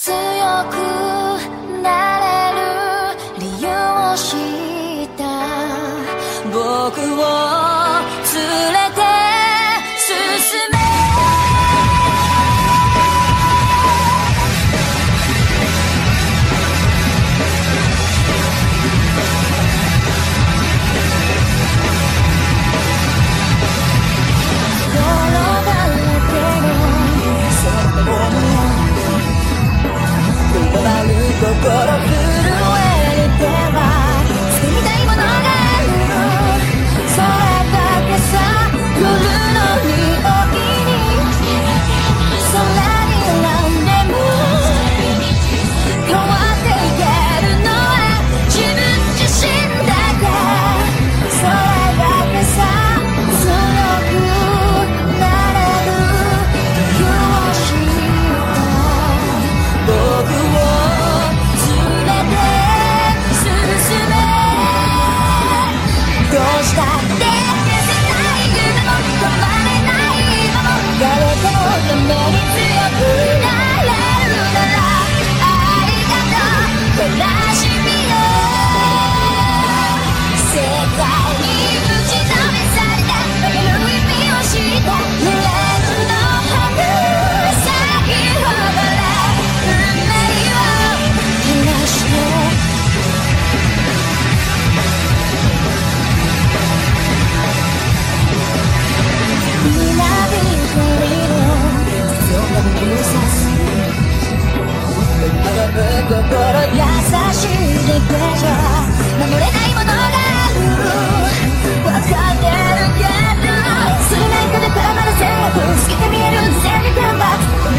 強くなれる理由を知った僕を連れて進め心震える手は捨てみたいものがあるそれだけさ夜の匂いに空にらんでも変わっていけるのは自分自身だけそれだけさ強くなれる理由を知った僕をどうしたって消せない夢も止まれない今も誰かのために強くなれるならありがとう悲しみよ世界に打ち止めされた負ける意味を知ったフレーズの春咲き誇れ運命を照らして心優しいだけじゃ守れないものがある分かってるけどそれなんかでたまる全部透けて見える全部頑張って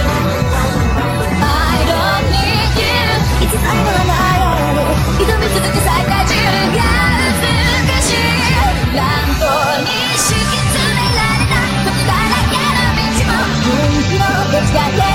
I don't need you いつまでもないように挑み続け最大中が難しい乱暴に敷き詰められた僕だらけの道も本気の出来だけ